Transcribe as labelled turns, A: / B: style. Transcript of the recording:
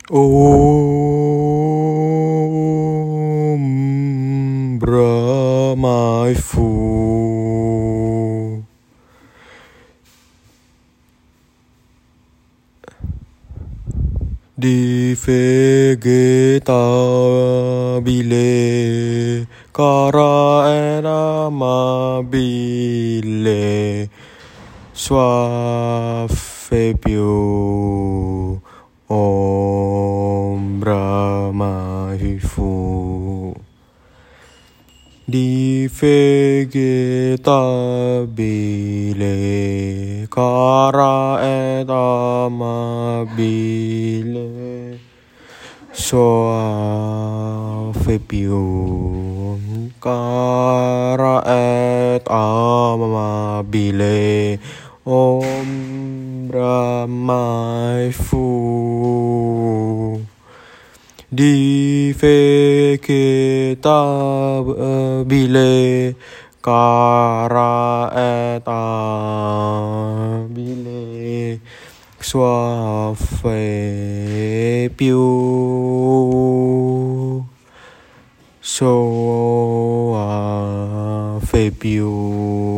A: Om Brahma Phu di vegetabile cara et amabile soif più Om Brahma Phu di vegetabile cara et amabile soif più cara et amabile Om Brahma Phu di vegetabile cara et amabile soif più soif più